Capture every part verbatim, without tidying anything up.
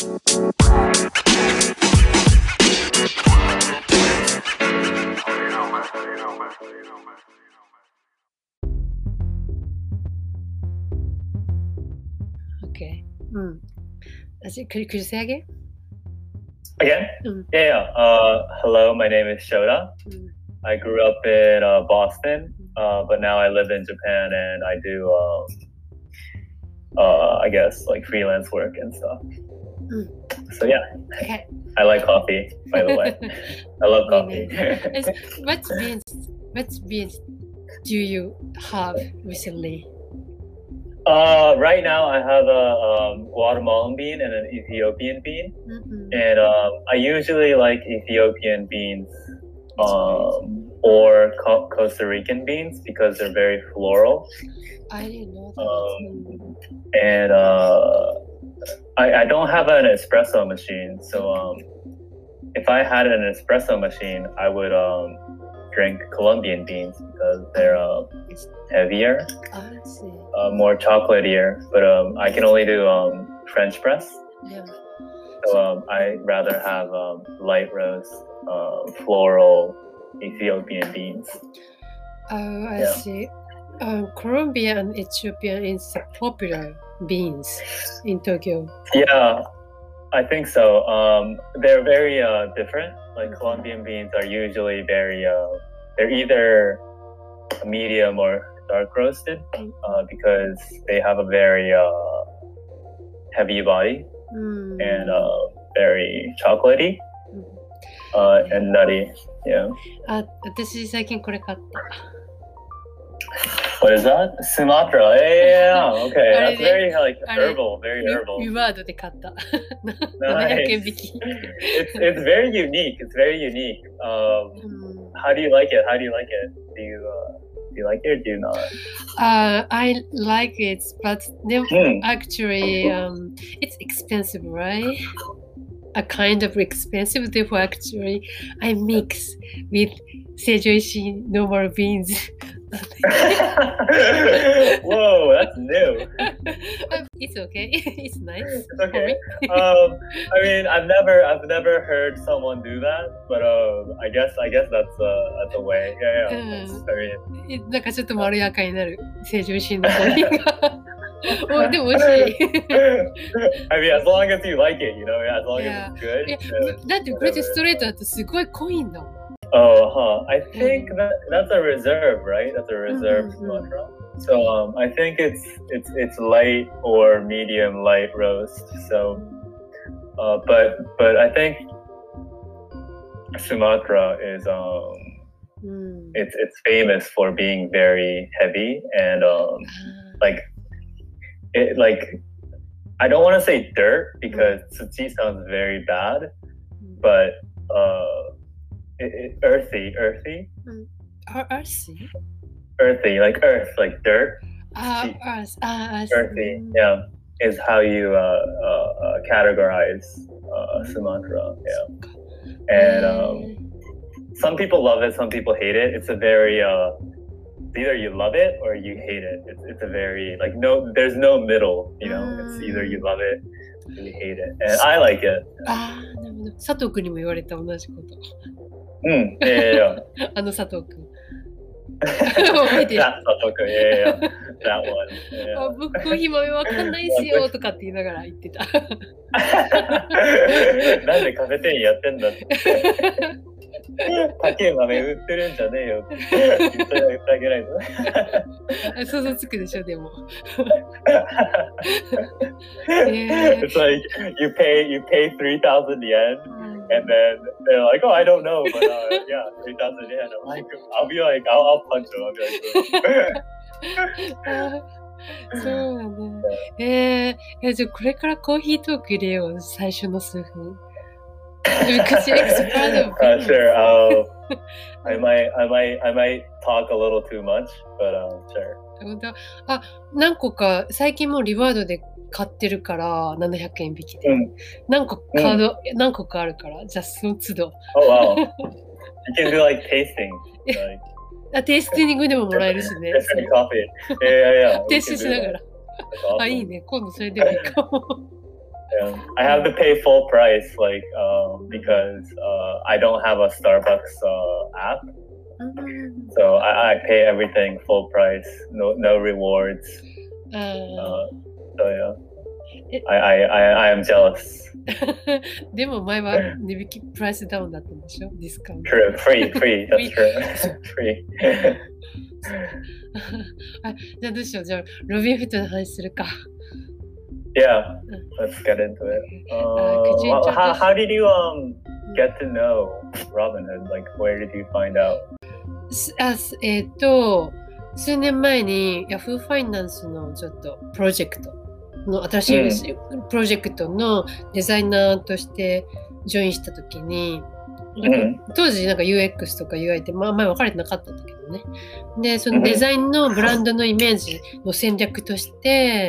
Okay. Mm. Could, could you say again? Again? Mm. Yeah, yeah. Uh, hello, my name is Shota. Mm. I grew up in uh, Boston, uh, but now I live in Japan and I do, um, uh, I guess, like freelance work and stuff. Mm. So yeah, Okay. I like coffee, by the way. I love coffee. What beans, what beans do you have recently? Uh, right now I have a um, Guatemalan bean and an Ethiopian bean. Mm-hmm. And um, I usually like Ethiopian beans um, or Co- Costa Rican beans because they're very floral. I didn't know that. Um, and uh, I, I don't have an espresso machine. So um, if I had an espresso machine, I would um, drink Colombian beans because they're uh, heavier, I see. uh, more chocolatier. But um, I can only do um, French press. Yeah. So um, I'd rather have um, light roast, uh, floral Ethiopian beans. Oh, I Yeah. see. Um, Colombian and Ethiopian is popular beans in Tokyo. Yeah, I think so. Um, they're very uh, different. Like Colombian beans are usually very, uh, they're either medium or dark roasted uh, because they have a very uh, heavy body Mm. and uh, very chocolatey uh, and nutty. Yeah. あ、私最近これ買った。 What is that? Sumatra. Yeah, yeah, okay. That's very like あれ herbal, very リ herbal. リワードで買った。なな Nice. ひゃくえん引き。 It's it's very unique. It's very unique. Um, うん how do you like it? How do you like it? Do you uh, do you like it or do you not? Uh, I like it, but then Hmm. actually, um, it's expensive, right? A kind of expensive. Therefore, actually, I mix with Seijoishi normal beans. Whoa, that's new. It's okay. It's nice. It's okay. Um, I mean, I've never, I've never heard someone do that, but um, I guess, I guess that's a, that's a way. Yeah, yeah. That's, I mean, なんかちょっとまろやかになる成城石井のコーヒーが。おでも美味しい。 I mean, as long as you like it, you know, as long Yeah. as it's good. いや uh, だってこれでストレートだとすごい濃いんだもん。 Oh, huh. I think that that's a reserve, right? That's a reserve Mhm. Sumatra. So um, I think it's it's it's light or medium light roast. So, uh, but but I think Sumatra is um, うん。 it's it's famous for being very heavy and um, like it like I don't want to say dirt because tsuchi sounds very bad, but uh, it, it, earthy, earthy, Ar- Earthy? earthy, like earth, like dirt, あ、Earth. あ、Earth. earthy, yeah, is how you uh, uh, uh, categorize uh, Sumatra, yeah. And um, some people love it, some people hate it. It's a very uh, either you love it or you hate it. It's it's a very like no, there's no middle, you know. It's either you love it or you hate it, and I like it. ああ、なるほど。佐藤君にも言われた同じこと。 Mm, yeah, yeah, yeah. あの佐藤君。覚えてる。 That Satoku, yeah, yeah, yeah. That one. あ、 Yeah. 僕コーヒー豆わかんないっすよとかって言いながら言ってた。 なんでカフェ店員やってんだって。高い豆売ってるんじゃねえよって言って言ってあげないと。 想像つくでしょ、でも。え It's like you pay you pay three thousand yen ー and then they're like, oh, I don't know, but uh, yeah, three thousand yen. I'm like, I'll be like, I'll, I'll punch them. I'll be like, あそうなんだ。えー、えじゃあこれからコーヒートーク入れよう、最初の数分。Because you expand of uh, sure. I'll, I might, I might, I might talk a little too much, but um, sure. 本当あ、何個か最近もうリワードで買ってるからななひゃくえん引きで、 うん何個カード、何個かあるからじゃあその都度 Oh wow, you can do like tasting, like あテイスティングでももらえるしね different coffee. Yeah, yeah, yeah. テ We イス can トし do なが that. ら That's awesome. あいいね今度それでもいいかも Yeah. I have to pay full price, like, um, because uh, I don't have a Starbucks uh, app. So I, I pay everything full price, no no rewards. Uh, so yeah, I, I, I, I am jealous. でも前は値引きプライスダウンだったんでしょ？ディスカウント。 True, free, free, that's true. Free. あ、じゃあどうしよう。じゃあロビンフットの話するか。 Yeah, let's get into it. Uh, well, how, how did you um get to know Robinhood? Like, where did you find out? あ、えっと、数年前に Yahoo ファイナンスのちょっとプロジェクトの新しいプロジェクトのデザイナーとしてジョインしたときに、なんか当時なんか ユーエックス とか ユーアイ ってまあ前分かれてなかったんだけどね。で、そのデザインのブランドのイメージの戦略として、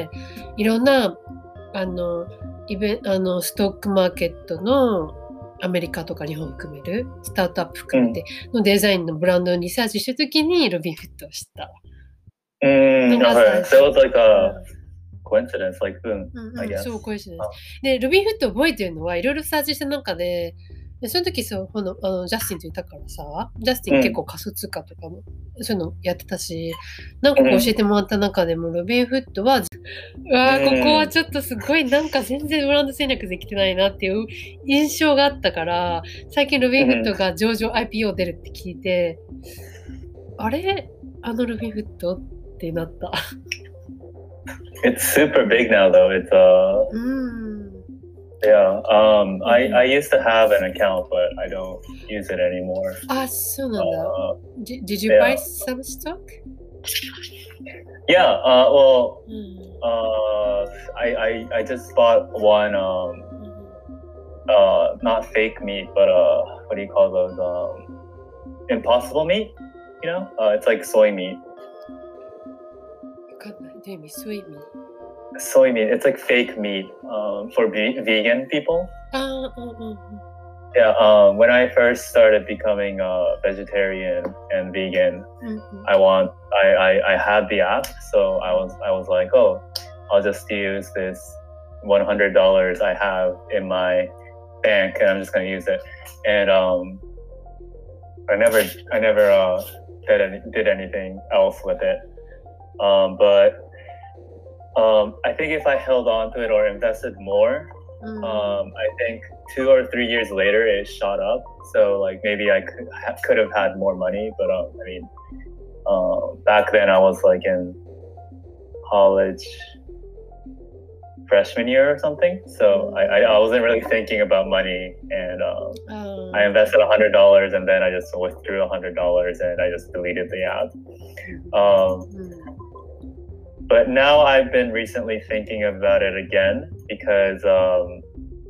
いろんなあのイベあのストックマーケットのアメリカとか日本含めるスタートアップ含めてのデザインのブランドをリサーチしたときにロビンフットを知った。 うん、okay. So it's like a coincidence, like boom, I guess. そう、コインシデンス。で、ロビンフットを覚えてるのはいろいろサーチした中で、でその時そうこのあのジャスティンといたからさ、ジャスティン結構仮想通貨とかも、うん、そういうのやってたし、何個か教えてもらった中でも、うん、ロビンフットは、うわー、ここはちょっとすごいなんか全然ブランド戦略できてないなっていう印象があったから、最近ロビンフットが上場 アイピーオー 出るって聞いて、うん、あれあのロビンフットってなった。 It's super big now though. It's uh yeah. Um I, I used to have an account but I don't use it anymore. あ、そうなんだ。Uh, did, did you buy some stock? Yeah, uh well uh I, I I just bought one um uh not fake meat but uh what do you call those um impossible meat? You know? Uh it's like soy meat. Soy meat. Soy meat. It's like fake meat um, for ve- vegan people. Uh, uh, uh, yeah. Um, when I first started becoming a vegetarian and vegan, mm-hmm. I want. I, I I had the app, so I was I was like, oh, I'll just use this one hundred dollars I have in my bank, and I'm just gonna use it. And um, I never I never uh, did any, did anything else with it. Um, but um, I think if I held on to it or invested more, mm. um, I think two or three years later it shot up. So like maybe I could ha- could have had more money, but um, I mean, uh, back then I was like in college freshman year or something. So I, I, I wasn't really thinking about money, and um, oh. I invested a hundred dollars and then I just withdrew a hundred dollars and I just deleted the app. Um, mm. But now I've been recently thinking about it again because um,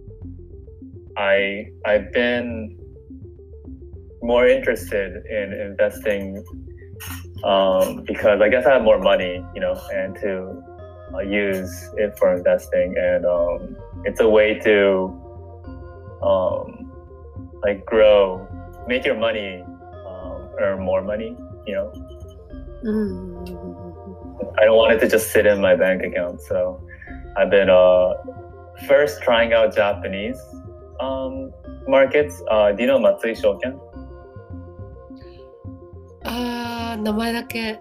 I I've been more interested in investing um, because I guess I have more money, you know, and to uh, use it for investing, and um, it's a way to um, like grow, make your money um, earn more money, you know. Mm-hmm. I don't want it to just sit in my bank account, so I've been uh, first trying out Japanese um, markets. Uh, do you know Matsui Shoken? あー、名前だけ。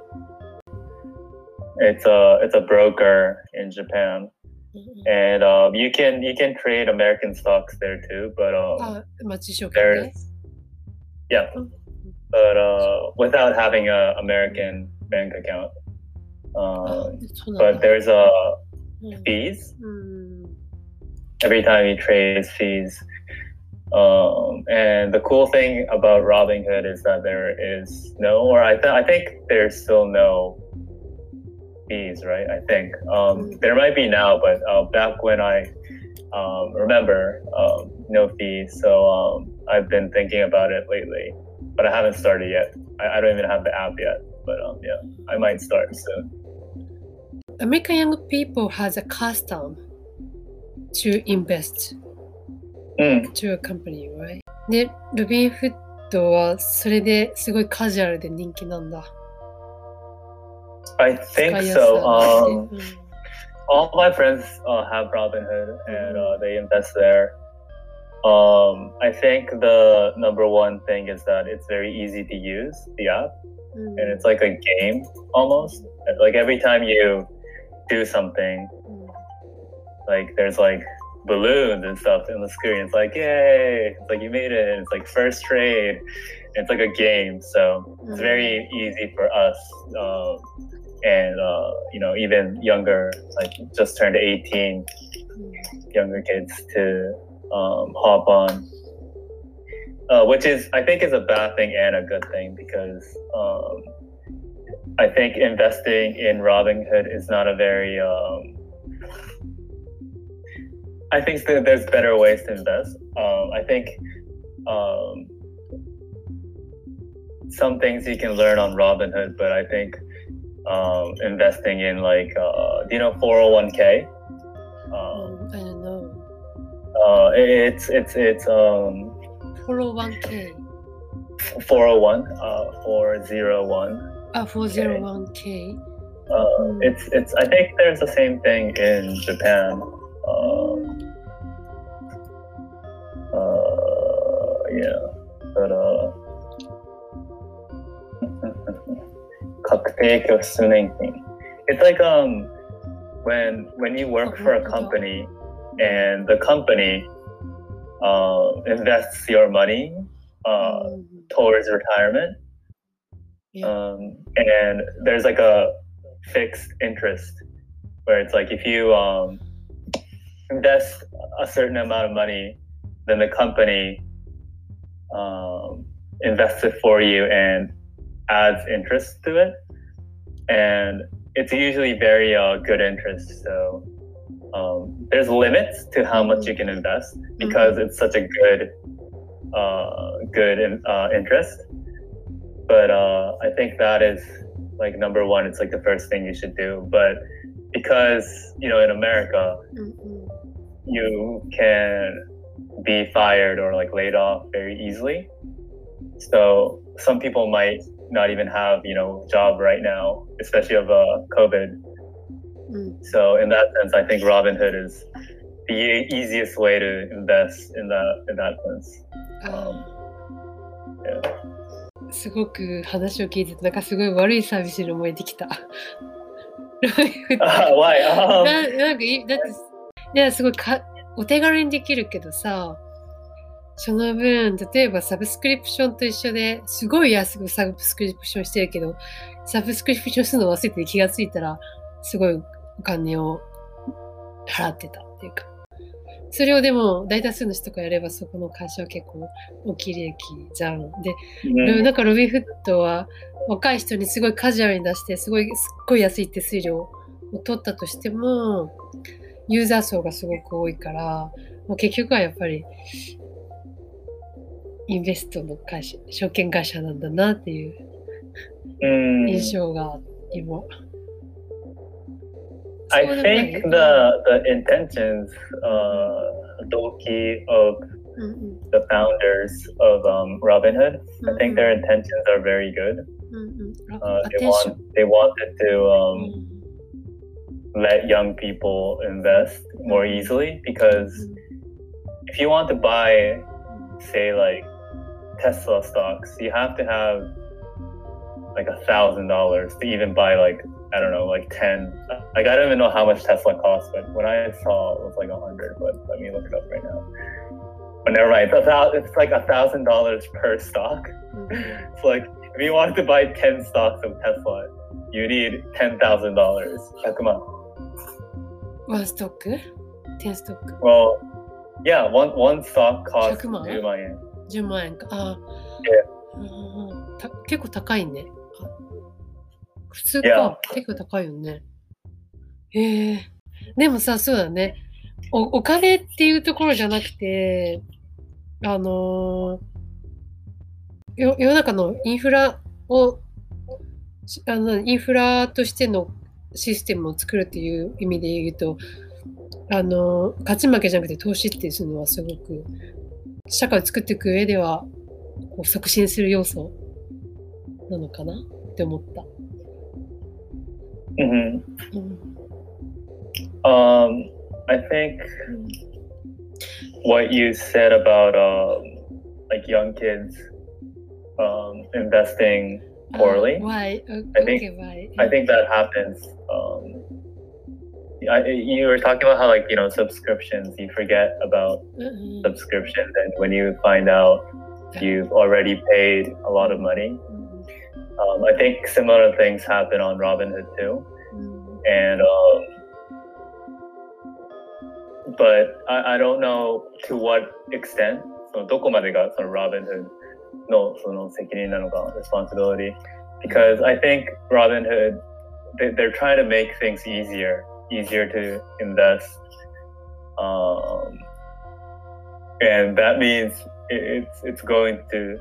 It's a it's a broker in Japan, mm-hmm. and um, you can you can trade American stocks there too. But um, uh, there's yeah, but uh, without having a American bank account. Um, but there's a uh, fees mm. every time you trade fees. Um, and the cool thing about Robinhood is that there is no, or I, th- I think there's still no fees, right? I think um, there might be now, but uh, back when I um, remember, um, no fees. So um, I've been thinking about it lately, but I haven't started yet. I, I don't even have the app yet, but um, yeah, I might start soon. American young people has a custom to invest mm. to a company, right? で、ロビンフットはそれですごいカジュアルで人気なんだ。 I think so. Um, all my friends uh, have Robinhood and uh, they invest there. Um, I think the number one thing is that it's very easy to use the app, mm. and it's like a game almost. Like every time you do something, mm. like there's like balloons and stuff on the screen. It's like yay! It's like you made it. It's like first trade. It's like a game, so it's very easy for us. Um, and uh, you know, even younger, like just turned eighteen, younger kids to um, hop on, uh, which is I think is a bad thing and a good thing because um, I think investing in Robinhood is not a very. Um, I think that there's better ways to invest. Um, I think um, some things you can learn on Robinhood, but I think. Um, investing in like uh, do you know four oh one k? Um, I don't know. Uh, it's it's it's um. four oh one k. four oh one. Uh, four oh one. Ah, four oh one k. Uh, mm. It's it's. I think there's the same thing in Japan. Uh, uh yeah, but uh. 確定拠出年金 It's like um when when you work for a company and the company uh, invests your money uh, towards retirement, um, and there's like a fixed interest where it's like if you um, invest a certain amount of money, then the company um, invests it for you and adds interest to it, and it's usually very uh, good interest. So um, there's limits to how much you can invest because mm-hmm. it's such a good, uh, good in, uh, interest. But uh, I think that is like number one. It's like the first thing you should do. But because you know in America, mm-hmm. you can be fired or like laid off very easily. So some people might not even have, you know, job right now, especially of uh, COVID. Mm. So in that sense, I think Robinhood is the e- easiest way to invest in that in that sense. Um, yeah. すごく話を聞いててなんかすごい悪いサービスに思えてきた。 Why? Um, な, なんかだっていやすごいかお手軽にできるけどさ。その分、例えばサブスクリプションと一緒ですごい安くサブスクリプションしてるけど、サブスクリプションするの忘れて気がついたら、すごいお金を払ってたっていうか。それをでも大多数の人とかやればそこの会社は結構大きい利益じゃん。で、うん、なんかロビンフットは若い人にすごいカジュアルに出して、すごい、すっごい安い手数料を取ったとしても、ユーザー層がすごく多いから、もう結局はやっぱり、インベストの会社、証券会社なんだなっていう印象が今。 I think the the intentions, uh, Doki of mm-hmm. the founders of um, Robinhood, mm-hmm. I think their intentions are very good. Mm-hmm. Uh, they want they wanted to um, mm-hmm. let young people invest more easily because mm-hmm. if you want to buy, say like Tesla stocks, you have to have like a thousand dollars to even buy like I don't know like ten. Like I don't even know how much Tesla costs, but when I saw it was like a hundred. But let me look it up right now. But never mind. It's, a, it's like a thousand dollars per stock. Mm-hmm. It's like if you wanted to buy ten stocks of Tesla, you need ten thousand dollars. One stock? Ten stock. Well, yeah. One one stock costs じゅうまんえん。 じゅうまんえんか。ああ。うん、た結構高いね。普通か。Yeah. 結構高いよね。へえ。でもさ、そうだね。お、お金っていうところじゃなくて、あのー、よ世の中のインフラを、あの、インフラとしてのシステムを作るっていう意味で言うと、あのー、勝ち負けじゃなくて投資っていうのはすごく、社会を作っていく上ではこう促進する要素なのかなって思った。 Mm-hmm. Um, I think what you said about um, like young kids um, investing poorly. Uh, why? I think Okay, why? I think that happens. Um, I, you were talking about how like you know subscriptions. You forget about Uh-huh. subscriptions, and when you find out you've already paid a lot of money. Um, I think similar things happen on Robinhood too, and um, but I, I don't know to what extent. そのどこまでがその Robinhood のその責任なのか responsibility, because I think Robinhood they, they're trying to make things easier, easier to invest, um, and that means it, it's it's going to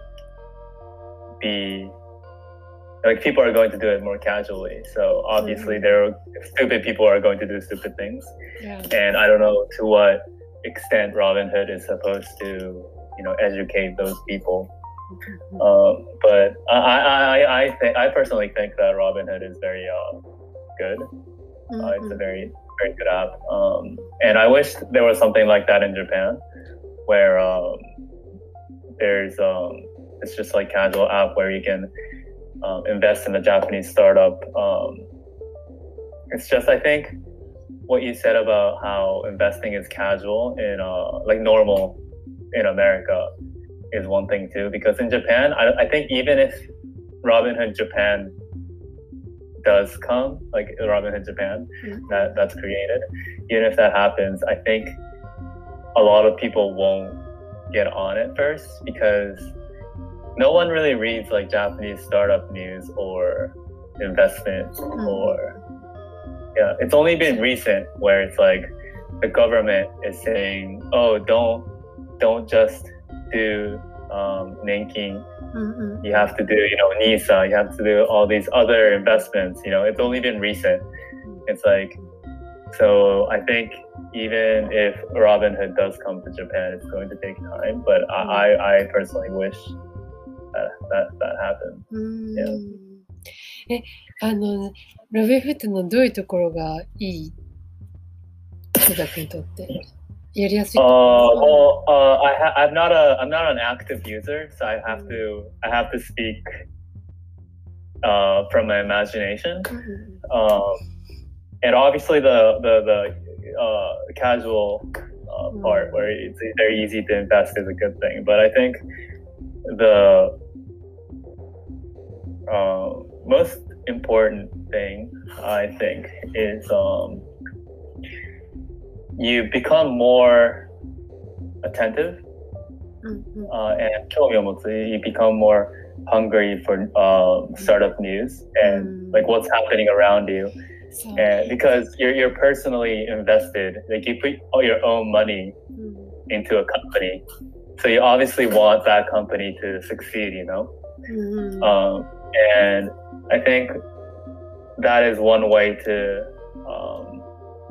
be like people are going to do it more casually. So obviously mm-hmm. there are stupid people are going to do stupid things. Yeah. And I don't know to what extent Robinhood is supposed to, you know, educate those people. Mm-hmm. Um, but I, I, I think I personally think that Robinhood is very uh, good. Mm-hmm. Uh, it's a very, very good app. Um, and I wish there was something like that in Japan, where um, there's um, it's just like casual app where you can Um, invest in a Japanese startup. Um, it's just, I think, what you said about how investing is casual in uh, like normal in America is one thing too. Because in Japan, I, I think even if Robinhood Japan does come, like Robinhood Japan, mm-hmm. that that's created, even if that happens, I think a lot of people won't get on it first because no one really reads like Japanese startup news or investment mm-hmm. or yeah it's only been recent where it's like the government is saying, oh, don't don't just do um Nenkin, mm-hmm. you have to do you know NISA, you have to do all these other investments. You know, it's only been recent. It's like, so I think even if Robinhood does come to Japan, it's going to take time, but mm-hmm. I I personally wish That, that, that happened. Yeah. え、あの、ロビンフットのどういうところがいい人たちにとってやりやすい？ Uh, well, uh, I ha- I'm not a I'm not an active user, so I have to I have to speak uh, from my imagination. Mm-hmm. Um, and obviously the the the uh, casual uh, part mm-hmm. where it's very easy to invest is a good thing, but I think the uh, most important thing, I think, is um, you become more attentive mm-hmm. uh, and you become more hungry for uh, startup news and mm-hmm. like what's happening around you. So, and because you're you're personally invested, like you put all your own money mm-hmm. into a company. So you obviously want that company to succeed, you know? Mm-hmm. Um, and I think that is one way to, um,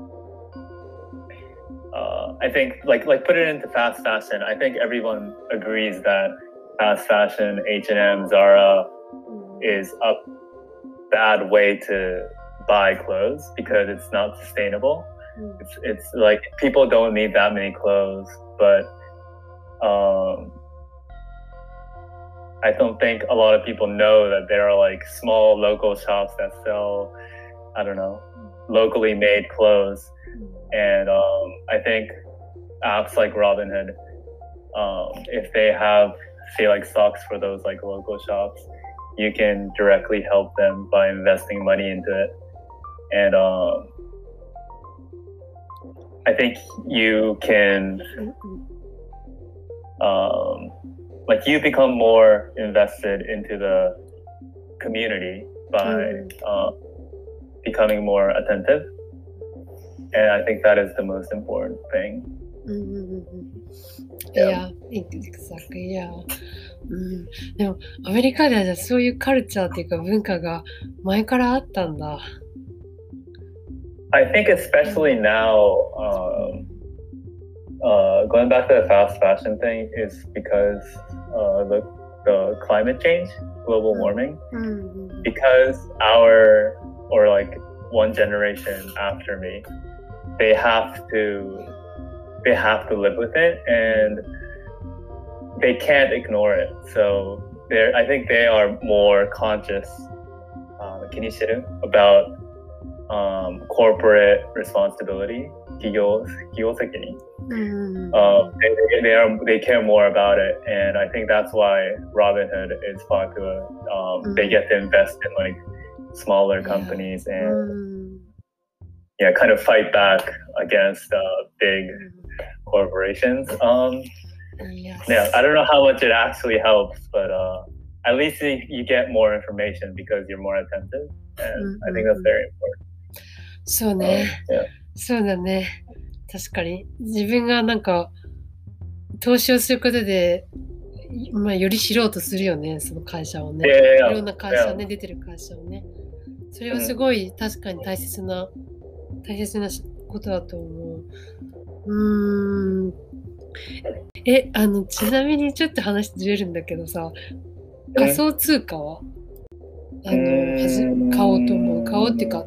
uh, I think, like, like put it into fast fashion. I think everyone agrees that fast fashion, H and M, Zara, mm-hmm. is a bad way to buy clothes because it's not sustainable. Mm-hmm. It's, it's like people don't need that many clothes, but Um, I don't think a lot of people know that there are like small local shops that sell, I don't know, locally made clothes. And um, I think apps like Robinhood, um, if they have, say, like stocks for those like local shops, you can directly help them by investing money into it. And um, I think you can Um, like you become more invested into the community by mm. uh, becoming more attentive, and I think that is the most important thing. Mm-hmm. Yeah, yeah, exactly. Yeah. うん、でもアメリカではじゃあそういうカルチャーっていうか文化が前からあったんだ。 I think especially now. Um, Uh, going back to the fast fashion thing is because uh, the the climate change, global warming, mm-hmm. because our or like one generation after me, they have to they have to live with it and they can't ignore it. So they're I think they are more conscious uh, 気にしてる about um, corporate responsibility 企業企業責任 Mm. Um, they, they, they, are, they care more about it, and I think that's why Robinhood is popular. Um, Mm. They get to invest in like smaller Yeah. companies and Mm. yeah, kind of fight back against uh, big Mm. corporations. Um, Yes. yeah, I don't know how much it actually helps, but uh, at least you, you get more information because you're more attentive, and I think that's very important. そう Um, ね。 yeah. そうだね。確かに。自分がなんか、投資をすることで、まあ、より知ろうとするよね、その会社をね。 Yeah, yeah, yeah. いろんな会社ね、出てる会社をね。それはすごい確かに大切な、大切なことだと思う。うーん。え、あの、ちなみにちょっと話ずれるんだけどさ、仮想通貨はあの、はじ買おうと思う。買おうっていうか、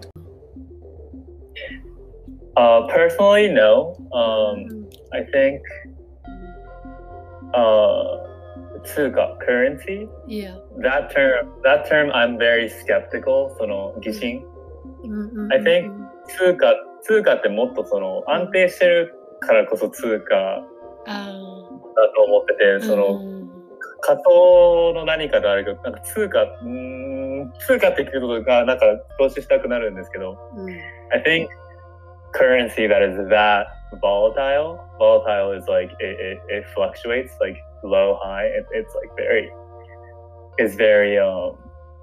Uh, personally, no. Um, I think uh, tsuka, currency, いや。 that term, that term, I'm very skeptical. その疑心。 うんうんうん I think 通貨、通貨ってもっとその安定してるからこそ通貨だあと思ってて、 ーそのうん仮想の何かであるけど、なんか通貨、うーん、通貨って聞くことがなんか投資したくなるんですけど、 うん I think currency that is that volatile, volatile is like it, it, it fluctuates like low, high. It, it's like very, it's very, um,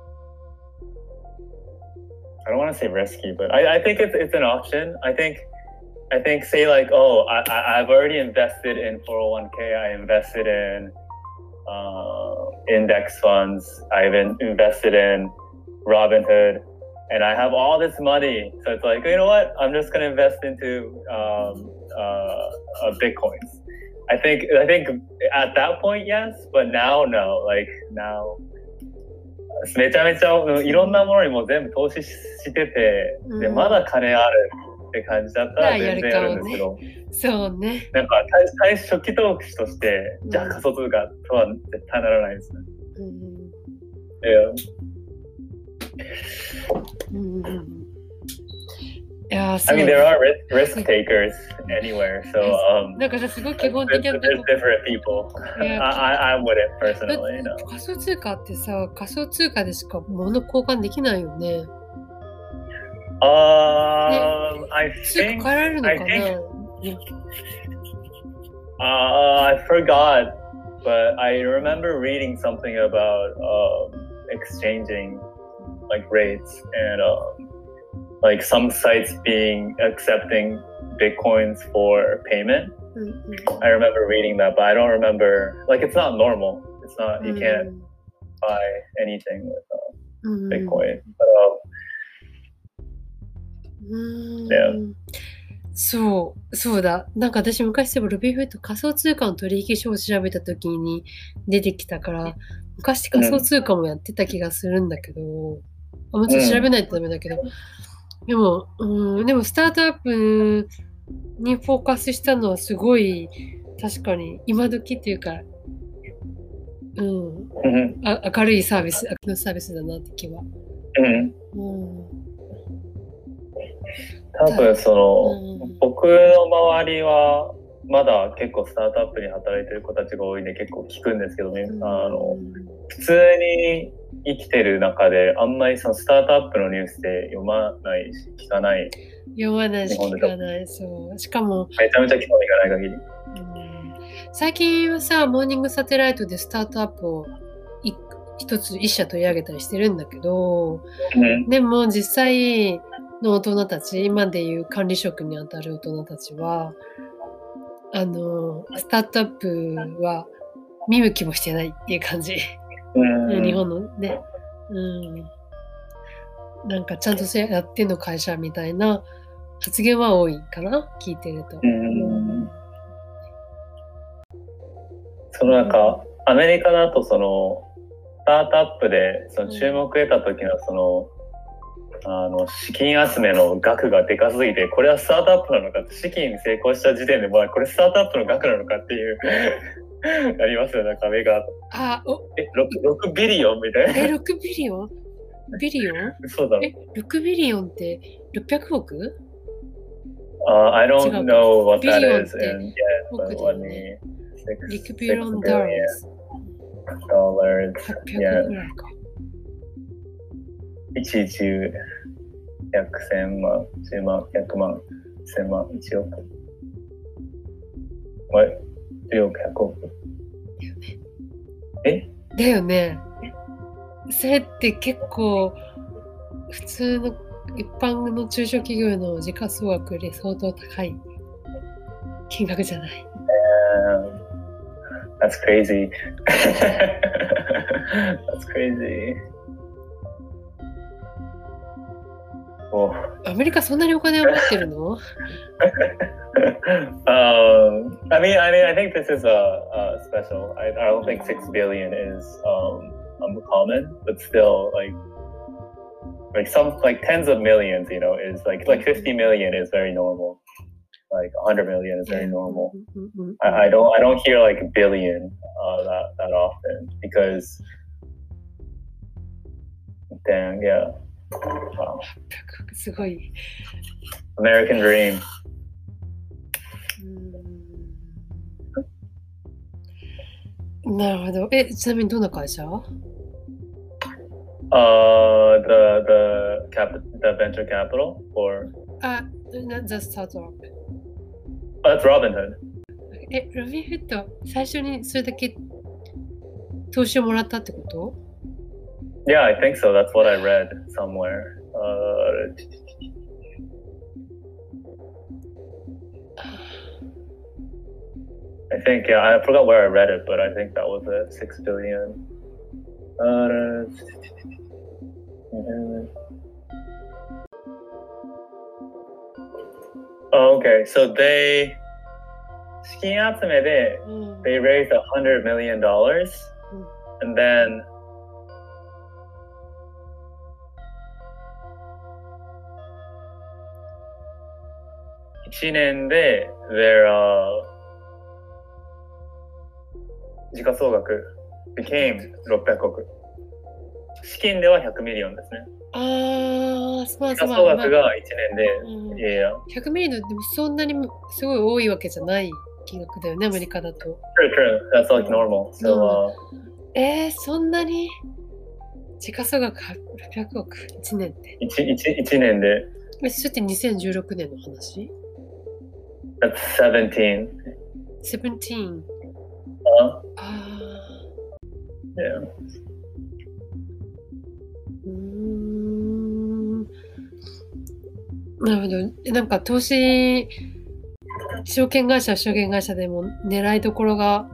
I don't want to say risky, but I, I think it's it's an option. I think, I think say like, oh, I, I I've already invested in four oh one k. I invested in uh, index funds. I've in, invested in Robinhood. And I have all this money, so it's like, you know what? I'm just gonna invest into um, uh, uh, bitcoins. I think I think at that point, yes, but now, no. Like now, めちゃめちゃいろんなものにも全部投資してて、でうんまだ金あるって感じだったら全然やるんですけど、 そうね。 なんか最初初期投資としてじゃあ仮想通貨とは絶対ならないですね。 うん Yeah. うんうんいやー、そ I う mean, there are risk, risk takers anywhere, so um, なんかさ、すごい基本 there's, 的なと there's こ different people. Yeah. I, I, I wouldn't personally, you know. 仮想通貨ってさ、仮想通貨でしか物交換できないよね。 Um, I 通貨 think 変えられるの I か think な uh, I forgot, but I remember reading something about um, exchanging like rates and um, like some sites being accepting bitcoins for payment. うんうん I remember reading that, but I don't remember. Like, it's not normal. It's not. You can't buy anything with uh, うん Bitcoin. But um, うーん Yeah. そう、そうだ。なんか私昔でもロビーフット仮想通貨の取引所を調べた時に出てきたから、昔仮想通貨もやってた気がするんだけど、あもちろん調べないとダメだけど、でも、うん、でもスタートアップにフォーカスしたのはすごい確かに今時っていうか、うん、 mhm, あ明るいサービス、明るいサービスだなって気は。 mhm. うん多分その、 うん僕の周りはまだ結構スタートアップに働いてる子たちが多いんで結構聞くんですけどね、 うんあの普通に生きてる中であんまりそのスタートアップのニュースで読まないし聞かない、 読まないし聞かない。そう。しかも、 めちゃめちゃ興味がない限り。 うん最近はさ、モーニングサテライトでスタートアップをい一つ一社取り上げたりしてるんだけど、 うんでも実際の大人たち、今でいう管理職にあたる大人たちは、あの、スタートアップは見向きもしてないっていう感じ。 うん日本のね。うん。なんかちゃんとやってんの会社みたいな発言は多いかな聞いてると。 うんそのなんかアメリカだとそのスタートアップでその注目を得た時のそのあの資金集めの額がでかすぎて、これはスタートアップなのかって、資金に成功した時点でもうこれスタートアップの額なのかっていうありますよね、壁が。 あ、おえ 6, ろくビリオンみたいな。 え、ろくビリオンビリオンそうだろ。 え、ろくビリオンってろっぴゃくおく Uh, I don't 違うか。 know what ビ that リオンっ is て in yen, 億 but だ let よ me ね。 six, 6ビリオ six ンダラ billion ー dollars はっぴゃく yen. ぐらいか。 いち、じゅう、ひゃく、せん万、じゅう万、ひゃく万、せん万、いちおく。What? じゅうおく、ひゃくおく。えだよね。それって結構普通の一般の中小企業の時価総額より相当高い金額じゃない。 Um, that's crazy. That's crazy. Oh. アメリカそんなにお金を持ってるの um, I mean, I mean, I think this is a, a special. I, I don't think six billion is um, um common, but still, like, like some like tens of millions, you know, is like like fifty million is very normal. Like one hundred million is very normal. I, I don't I don't hear like a billion uh, that that often because, damn, yeah. Wow. すごい。 American dream. うん、なるほど。え、ちなみにどんな会社？ Uh, the the cap the venture capital or あ、The Startup。 that's Robinhood. え、ロビンフッド、最初にそれだけ投資をもらったってこと？ Yeah, I think so. That's what I read somewhere. Uh, I think, yeah, I forgot where I read it, but I think that was it. Six billion. Uh, oh, okay, so they 資金集めで they raised a hundred million dollars, and then one年で their uh, 時価総額 became ろっぴゃくおく。資金ではひゃくミリオンですね。 ああ、すまん時価総額がいちねんで、 うん、 いやいや。 ひゃくミリオンでもそんなにすごい多いわけじゃない金額だよね、アメリカだと。 True, true. That's like normal. So, uh, えー、そんなに時価総額ろっぴゃくおく、いちねんって。 1, 1, 1年で。 え、それってにせんじゅうろくねんの話？ That's seventeen. seventeen. Uh, ああ。 Yeah. うーん。なるほど。なんか投資、証券会社は証券会社でも狙いどころが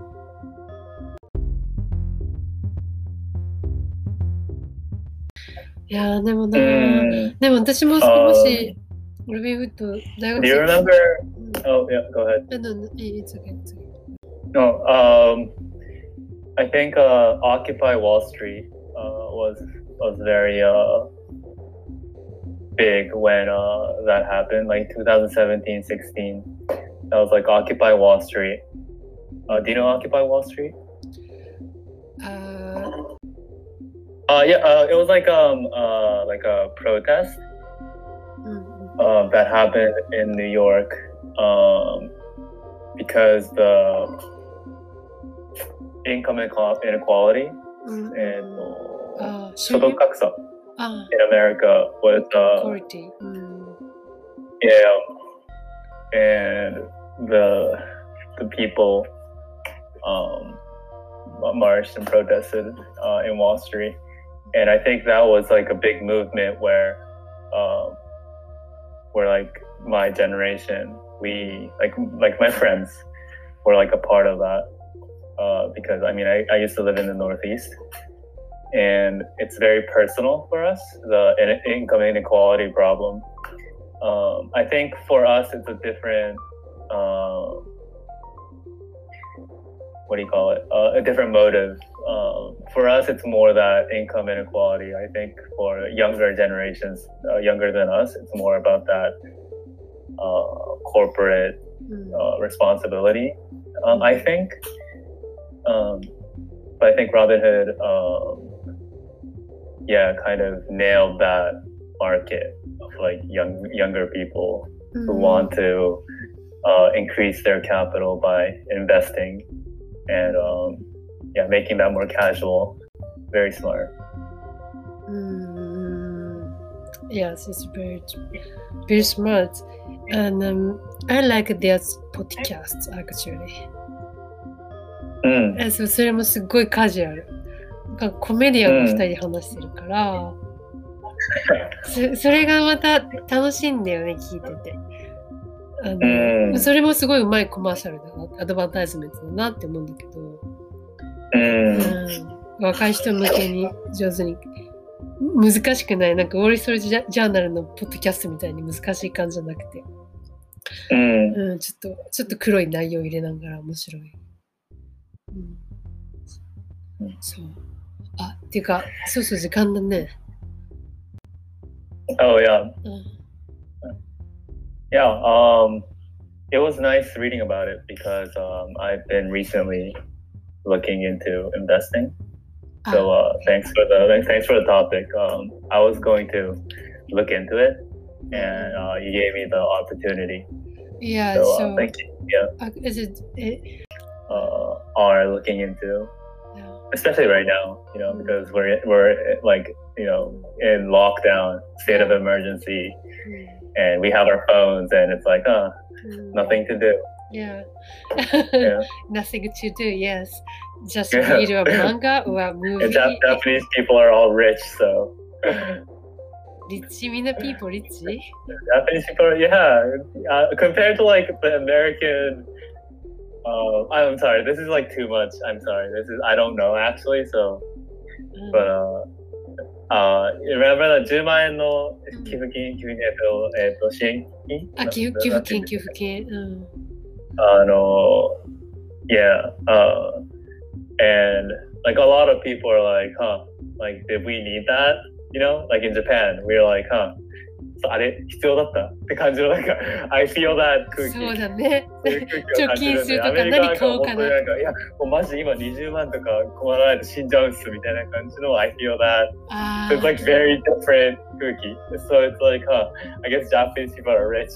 いやーでもなー、でも私ももしロビンフッド大学生 Do you remember? Oh, yeah, go ahead. No, no, it's okay, it's okay. No, um, I think uh, Occupy Wall Street uh, was was very uh, big when uh, that happened, like twenty seventeen, sixteen. That was like Occupy Wall Street. Uh, do you know Occupy Wall Street? Uh, uh yeah, uh, it was like um uh like a protest uh, that happened in New York um because the income inequality mm-hmm. and uh, 所得格差 uh, in America was uh, quality. Mm. Yeah, and the the people um, marched and protested uh, in Wall Street, and I think that was like a big movement where um, where like my generation, we like like my friends were like a part of that uh, because I mean I, I used to live in the Northeast, and it's very personal for us, the in- income inequality problem. Um, I think for us it's a different uh, what do you call it? Uh, a different motive um, for us, it's more that income inequality. I think for younger generations, uh, younger than us, it's more about that uh, corporate uh, responsibility. Um, I think, um, but I think Robinhood, um, yeah, kind of nailed that market of like young younger people mm-hmm. who want to uh, increase their capital by investing and um, yeah, making that more casual. Very smart. Mm, yes, it's very very smart, and um, I like their podcast actually. うん、 えそ, それもすっごいカジュアル。コメディアンがふたりで話してるから、うんそ、それがまた楽しいんだよね、聞いてて。あの、うん、それもすごいうまいコマーシャルだな、アドバタイズメントだなって思うんだけど、 うんうん、若い人向けに上手に、難しくない、なんかウォール・ストリート・ジャーナルのポッドキャストみたいに難しい感じじゃなくて、 うんうん、ちょっと、ちょっと黒い内容入れながら面白い。うん、そう。あ、っていうか、そうそう、時間だね。 Oh, yeah. Yeah, um, it was nice reading about it because um, I've been recently looking into investing. So uh, thanks for the thanks for the topic. Um, I was going to look into it, and uh, you gave me the opportunity. Yeah, so, so uh, thank you. Yeah. Uh, is it? it uh, are looking into, especially right now, you know, because we're we're like you know in lockdown, state of emergency, and we have our phones, and it's like, uh, nothing to do. Yeah, yeah. Nothing to do. Yes, just read a manga or a movie. And Jap- Japanese people are all rich, so. Rich, mina people rich? Japanese people, yeah. Uh, compared to like the American. Uh, I'm sorry, this is like too much. I'm sorry. This is I don't know actually. So, mm. but uh, uh, remember the じゅうまんえんの寄付金、寄付金えっとえっと支援金？ あ、寄付金寄付金。うん。 あの、yeah. Uh, and like a lot of people are like, huh? Like, did we need that? You know, like in Japan, we were like, huh? あれ必要だったって感じのなんか I feel that 空気そうだね貯金するとか何買おうかななんかいやもうマジで今にじゅうまんとか困らないと死んじゃうんすみたいな感じの I feel that so it's like very different 空気 so it's like huh I guess Japanese people are rich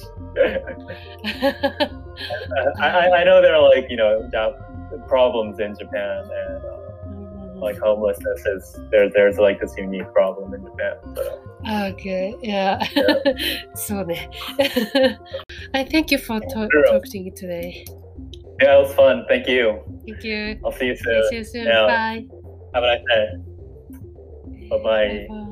I, I know there are like you know problems in Japan and uh, like homelessness is there there's like this unique problem in Japan so. Okay, yeah. yeah. So, I thank you for to- talking today. Yeah, it was fun. Thank you. Thank you. I'll see you soon. See you soon. Yeah. Bye. Have a nice day. Bye-bye. Bye-bye.